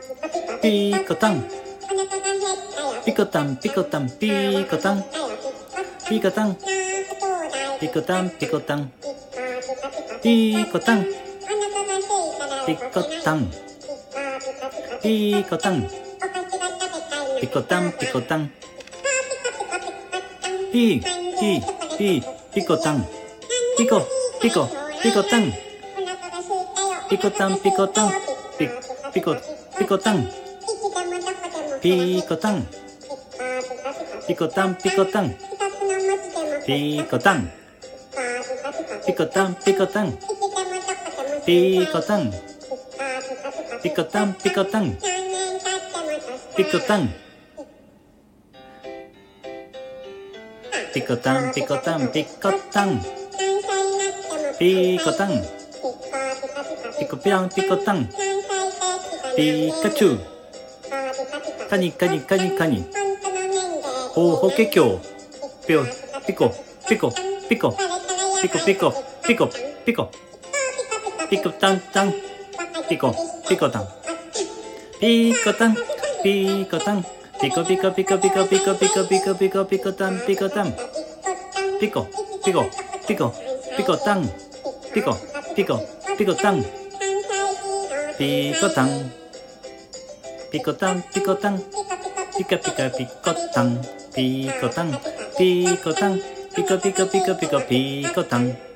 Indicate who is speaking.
Speaker 1: ピコタンピコタンピコタンピコタンピコタンピコタンピコタンピコタンピコタンピコタンピコタンピコタンピピコタンピコピコピコタンピコタンピコタンピコピコタンピコタンピコタンピコタンピコタンピコタンピコタンピコタンピコタンピコタンピコタンピコタンピコタンピコタンピコタンピコピャンピコタンピカチュウカニカニカニカニホホケキョウピョピコピコピコピコピコピコピコピコタンタンピコピコタンピコタンピコタンピコピコピコピコピコピコピコピコピコタンピコタンピコピコピコピコタンピコピコピコタンピコタンピコタンピコタンピカピカピコタンピコタンピコタンピコピコピコピコピコタン